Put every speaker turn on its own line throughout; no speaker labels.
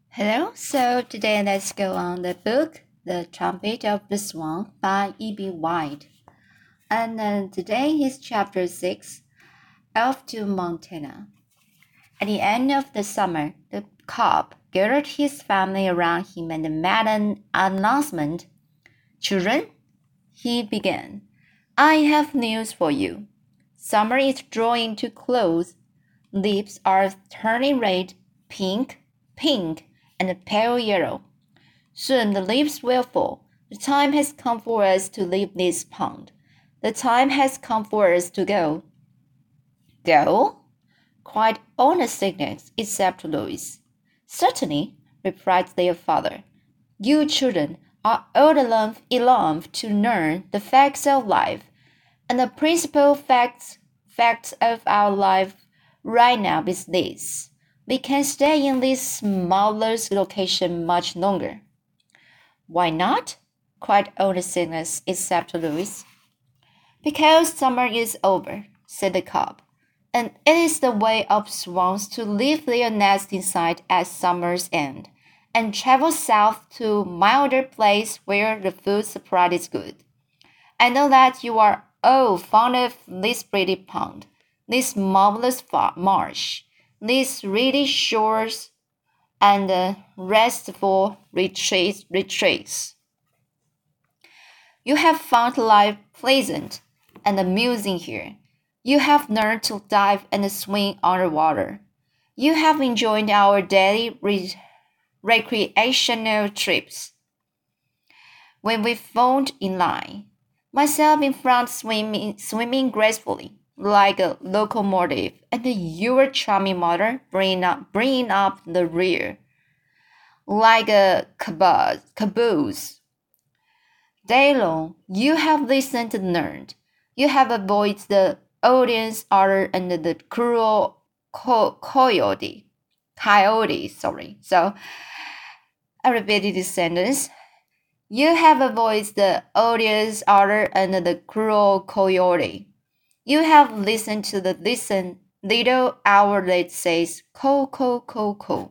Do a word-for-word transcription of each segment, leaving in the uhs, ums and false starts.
Hello, so today let's go on the book The Trumpet of the Swan by E B. White. And uh, today is chapter six, Off to Montana. At the end of the summer, the cob gathered his family around him and made an announcement. Children, he began, I have news for you. Summer is drawing to close. Leaves are turning red, pink, pink, and pale yellow. Soon the leaves will fall. The time has come for us to leave this pond. The time has come for us to go. Go? Cried all the sickness except Louis. Certainly, replied their father. You children are old enough, enough to learn the facts of life, and the principal facts, facts of our life right now is this. We can't stay in this marvelous location much longer. Why not? Cried all the sinners except Louis. Because summer is over, said the cob, and it is the way of swans to leave their nest inside at summer's end, and travel south to a milder place where the food supply is good. I know that you are all fond of this pretty pond, this marvelous marsh, these reedy shores, and uh, restful retreats, retreats. You have found life pleasant and amusing here. You have learned to dive and swim underwater. You have enjoyed our daily re- recreational trips. When we found in line, myself in front swimming, swimming gracefully, like a locomotive, and your charming mother bringing up, bringing up the rear, like a caboose. caboose. Day long, you have listened and learned. You have avoided the audience order and the cruel co- coyote. Coyote, sorry. So, I repeated this sentence. You have avoided the odious order and the cruel coyote. You have listened to the listen little owl that says co co co co.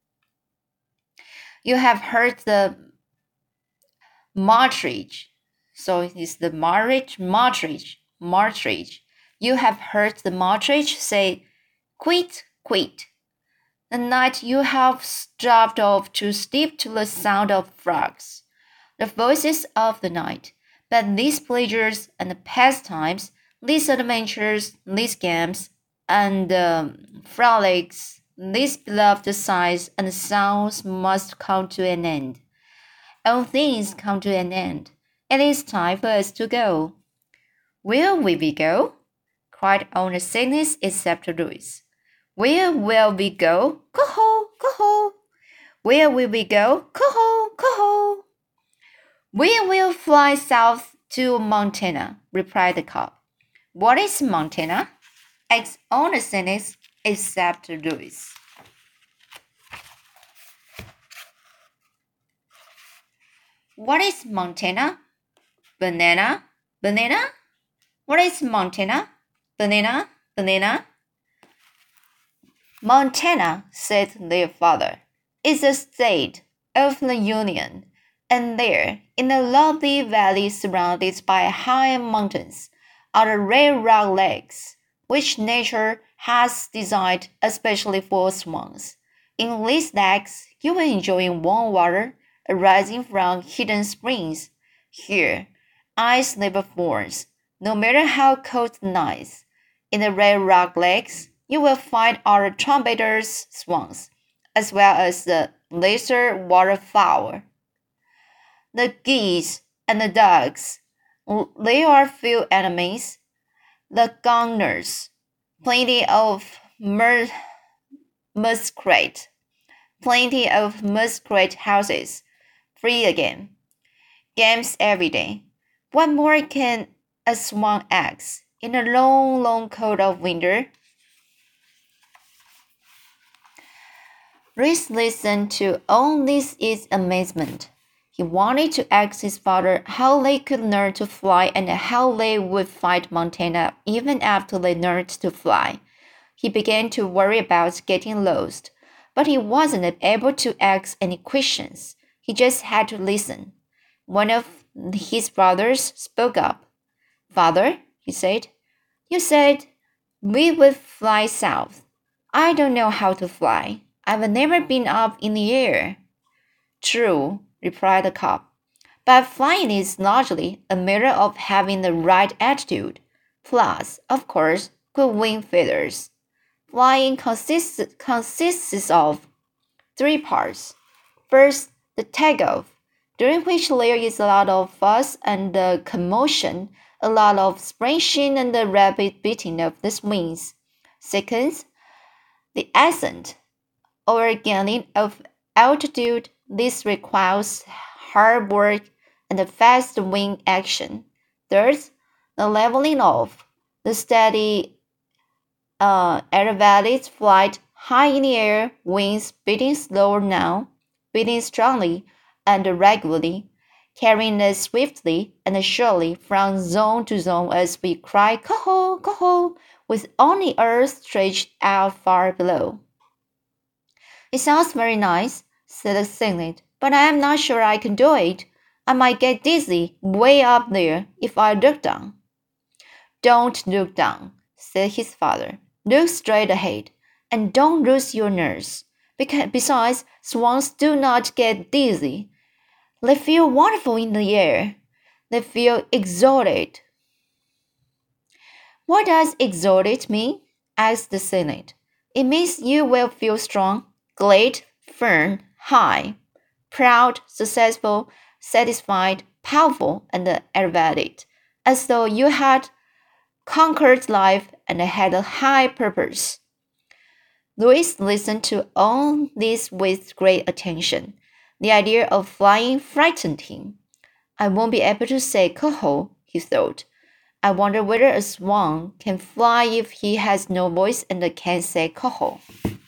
You have heard the partridge. So it is the marriage, partridge, partridge. You have heard the partridge say quit, quit. The night you have dropped off to sleep to the sound of frogs, the voices of the night. But these pleasures and pastimes, these adventures, these games, and um, frolics, these beloved sights and sounds must come to an end. All things come to an end. It is time for us to go. Where will we go? Cried all the sickness except Louis. Where will we go? Coho, coho. Where will we go? Coho, coho. We will fly south to Montana, replied the cob. What is Montana? Asked all the cynics except Louis. What is Montana? Banana? Banana? What is Montana? Banana? Banana? Montana, said their father, is a state of the Union, and there, in a lovely valley surrounded by high mountains, are the Red Rock Lakes, which nature has designed especially for swans. In these lakes, you will enjoy warm water arising from hidden springs. Here, ice never forms, no matter how cold the nights. In the Red Rock Lakes, you will find our trumpeters' swans, as well as the lesser waterfowl, the geese, and the ducks. They are few enemies. The gunners, plenty of mer- muskrat, plenty of muskrat houses, free again. Games every day. What more can a swan ask in a long, long cold of winter? Reese listened to all this in amazement. He wanted to ask his father how they could learn to fly and how they would find Montana even after they learned to fly. He began to worry about getting lost. but he wasn't able to ask any questions. He just had to listen. One of his brothers spoke up. "Father," he said, "you said we would fly south. I don't know how to fly. I've never been up in the air." "True," replied the cop. "But flying is largely a matter of having the right attitude, plus, of course, good wing feathers. Flying consists, consists of three parts. First, the takeoff, during which there is a lot of fuss and uh, commotion, a lot of splashing and the rapid beating of the wings. Second, the ascent, or gaining of altitude. This requires hard work and a fast wing action. Third, the leveling off, the steady uh, aerobatic flight, high in the air, wings beating slower now, beating strongly and regularly, carrying us swiftly and surely from zone to zone as we cry "Coho, coho," with only earth stretched out far below. "It sounds very nice," said the sailor, "but I am not sure I can do it. I might get dizzy way up there if I look down." "Don't look down," said his father. "Look straight ahead, and don't lose your nerves. Because, besides, swans do not get dizzy. They feel wonderful in the air. They feel exalted." "What does exalted mean?" asked the sailor. "It means you will feel strong, glad, firm, high, proud, successful, satisfied, powerful, and elevated, as though you had conquered life and had a high purpose." Louis listened to all this with great attention. The idea of flying frightened him. "I won't be able to say coho," he thought. "I wonder whether a swan can fly if he has no voice and can't say coho."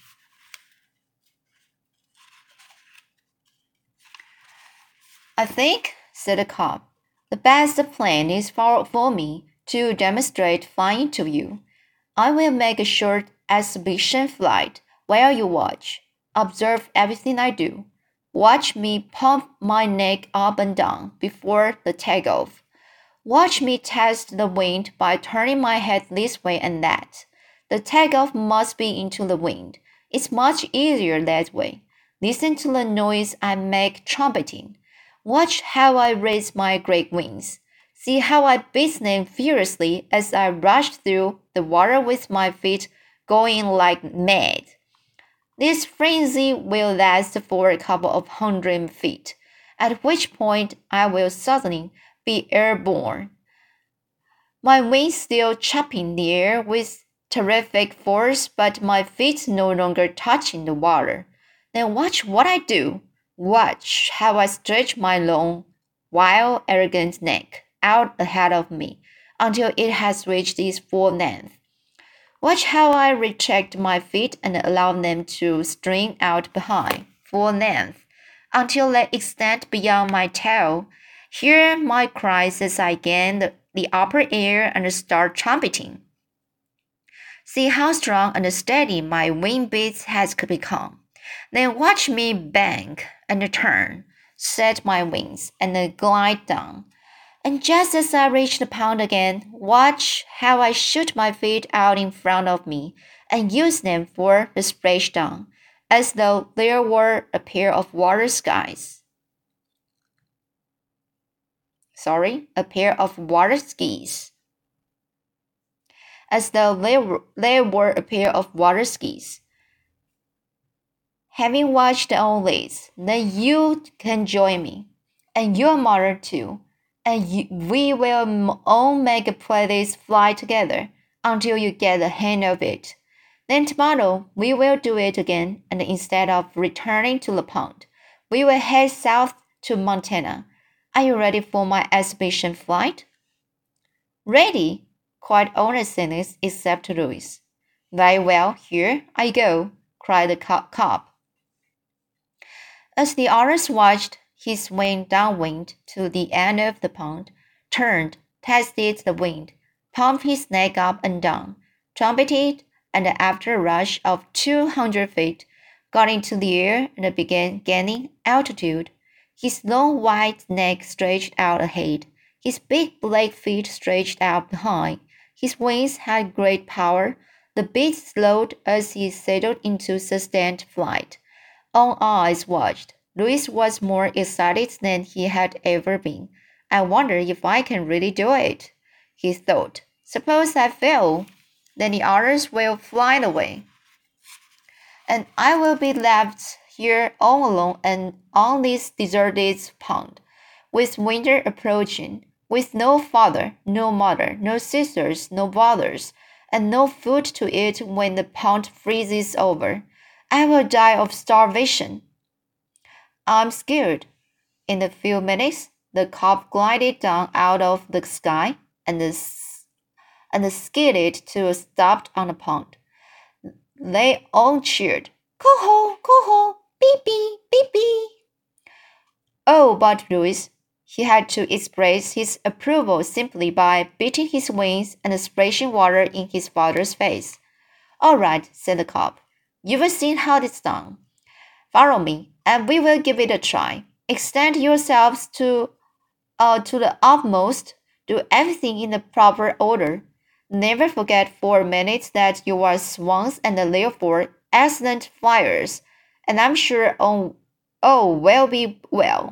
"I think," said the cop, "the best plan is for, for me to demonstrate flying to you. I will make a short exhibition flight while you watch. Observe everything I do. Watch me pump my neck up and down before the takeoff. Watch me test the wind by turning my head this way and that. The takeoff must be into the wind. It's much easier that way. Listen to the noise I make trumpeting. Watch how I raise my great wings. See how I beat them furiously as I rush through the water with my feet going like mad. This frenzy will last for a couple of hundred feet, at which point I will suddenly be airborne, my wings still chopping the air with terrific force, but my feet no longer touching the water. Then watch what I do. Watch how I stretch my long, wild, arrogant neck out ahead of me until it has reached its full length. Watch how I retract my feet and allow them to string out behind, full length, until they extend beyond my tail. Hear my cries as I gain the, the upper air and start trumpeting. See how strong and steady my wing beats has become. Then watch me bank and turn, set my wings, and glide down. And just as I reach the pond again, watch how I shoot my feet out in front of me and use them for the splashdown, as though there were a pair of water skis. Sorry, a pair of water skis. As though there were, there were a pair of water skis. Having watched all this, then you can join me, and your mother too. And you, we will all make a practice fly together until you get the hang of it. Then tomorrow we will do it again, and instead of returning to the pond, we will head south to Montana. Are you ready for my exhibition flight?" "Ready," cried all the sailors except Louis. "Very well, here I go," cried the cop. As the others watched, he swam downwind to the end of the pond, turned, tested the wind, pumped his neck up and down, trumpeted, and after a rush of two hundred feet, got into the air and began gaining altitude. His long white neck stretched out ahead. His big black feet stretched out behind. His wings had great power. The beast slowed as he settled into sustained flight. All eyes watched. Louis was more excited than he had ever been. I wonder if I can really do it, he thought. Suppose I fail, then the others will fly away, and I will be left here all alone and on this deserted pond, with winter approaching, with no father, no mother, no sisters, no brothers, and no food to eat when the pond freezes over. I will die of starvation. I'm scared. In a few minutes, the cop glided down out of the sky and, and skidded to a stop on the pond. They all cheered. Coho, coho, beep, beep, beep, beep. Oh, but Louis, he had to express his approval simply by beating his wings and splashing water in his father's face. All right, said the cop. You've seen how it's done. Follow me, and we will give it a try. Extend yourselves to, uh, to the utmost. Do everything in the proper order. Never forget for a minute that you are swans and therefore excellent flyers, and I'm sure all, all will be well.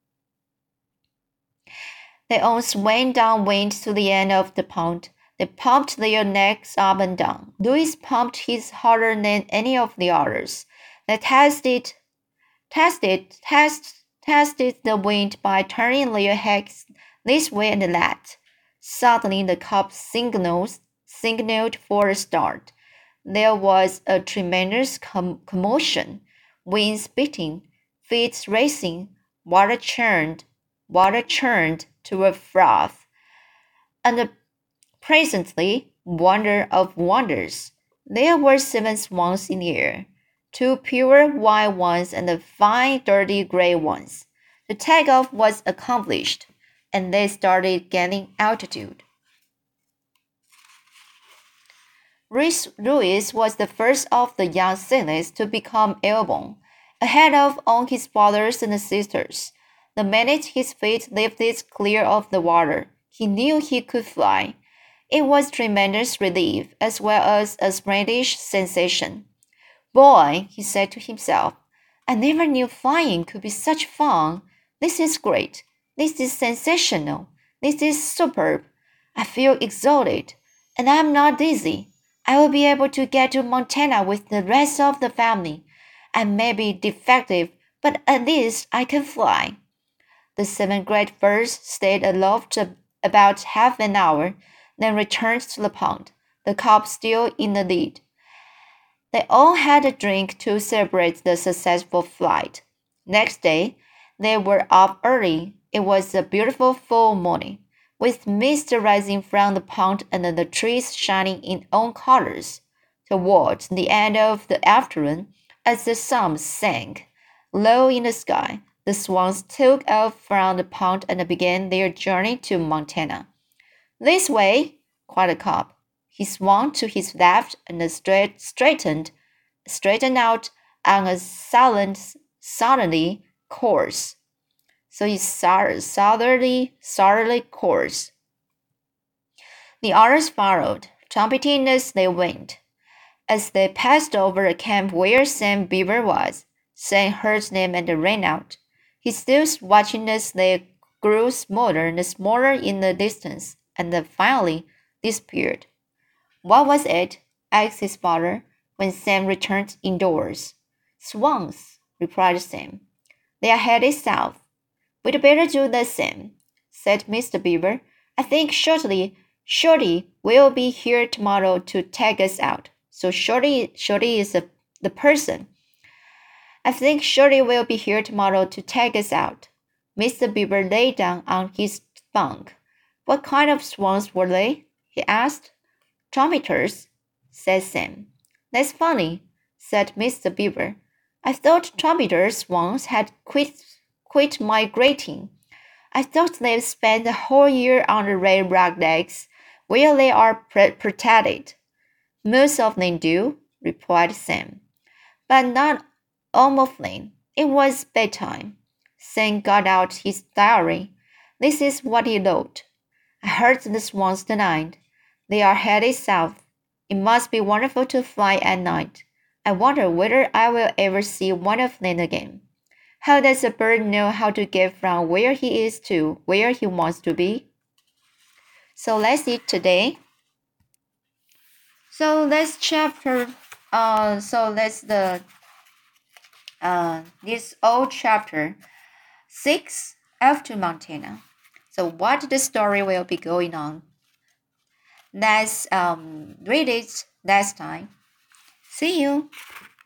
They all swam downwind to the end of the pond. They pumped their necks up and down. Louis pumped his harder than any of the others. They tested, tested, test, tested the wind by turning their heads this way and that. Suddenly the cop signals, signaled for a start. There was a tremendous com- commotion, wings beating, feet racing, water churned, water churned to a froth. And presently, wonder of wonders, there were seven swans in the air, two pure white ones and five dirty gray ones. The takeoff was accomplished, and they started gaining altitude. Louis was the first of the young sailors to become airborne, ahead of all his brothers and sisters. The minute his feet lifted clear of the water, he knew he could fly. It was tremendous relief as well as a splendid sensation. Boy, he said to himself, I never knew flying could be such fun. This is great. This is sensational. This is superb. I feel exalted, and I am not dizzy. I will be able to get to Montana with the rest of the family. I may be defective, but at least I can fly. The seven great birds stayed aloft about half an hour, then returned to the pond, the cop still in the lead. They all had a drink to celebrate the successful flight. Next day, they were up early. It was a beautiful full morning, with mist rising from the pond and the trees shining in all colors. Toward the end of the afternoon, as the sun sank low in the sky, the swans took off from the pond and began their journey to Montana. This way, cried the cop. He swung to his left and straight, straightened, straightened out on a silent, southerly course. So he southerly, southerly course. The others followed, trumpeting as they went. As they passed over a camp where Sam Beaver was, Sam heard them and ran out. He stood watching as they grew smaller and smaller in the distance, and finally disappeared. What was it? Asked his father when Sam returned indoors. Swans, replied Sam. They are headed south. We'd better do the same, said Mister Beaver. I think Shorty, Shorty will be here tomorrow to take us out. So Shorty, Shorty is a, the person. I think Shorty will be here tomorrow to take us out. Mister Beaver lay down on his bunk. What kind of swans were they? He asked. Trumpeters, said Sam. That's funny, said Mister Beaver. I thought trumpeter swans had quit, quit migrating. I thought they'd spend the whole year on the red rock lakes, where they are pr- protected. Most of them do, replied Sam. But not Oh, Mufflin, it was bedtime. Sam got out his diary. This is what he wrote. I heard the swans tonight. They are headed south. It must be wonderful to fly at night. I wonder whether I will ever see one of them again. How does a bird know how to get from where he is to where he wants to be? So let's see today. So let's chapter. Uh, so let's the uh this old chapter six F to Montana. So what the story will be going on? Let's um read it next time. See you.